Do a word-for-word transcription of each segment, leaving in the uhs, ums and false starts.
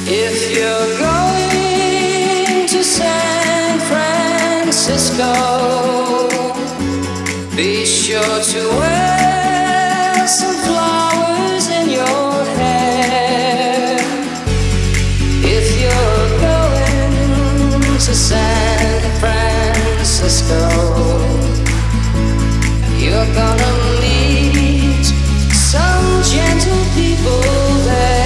If you're going to San Francisco, be sure to wear some flowers in your hair. If you're going to San Francisco, you're gonna meet some gentle people there.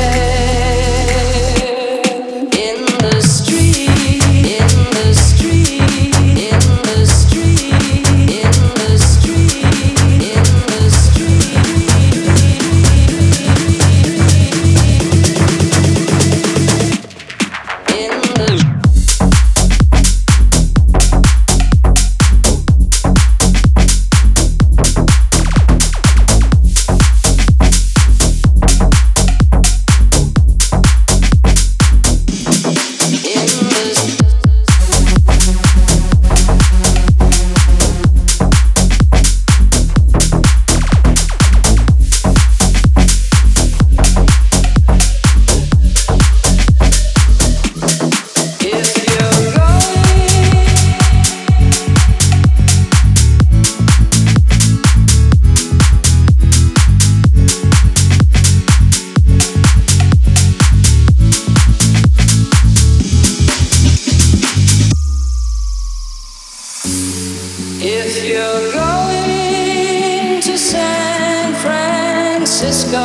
If you're going to San Francisco,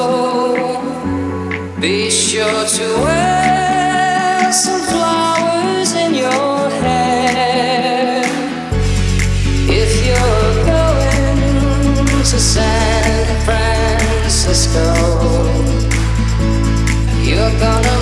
be sure to wear some flowers in your hair. If you're going to San Francisco, you're gonna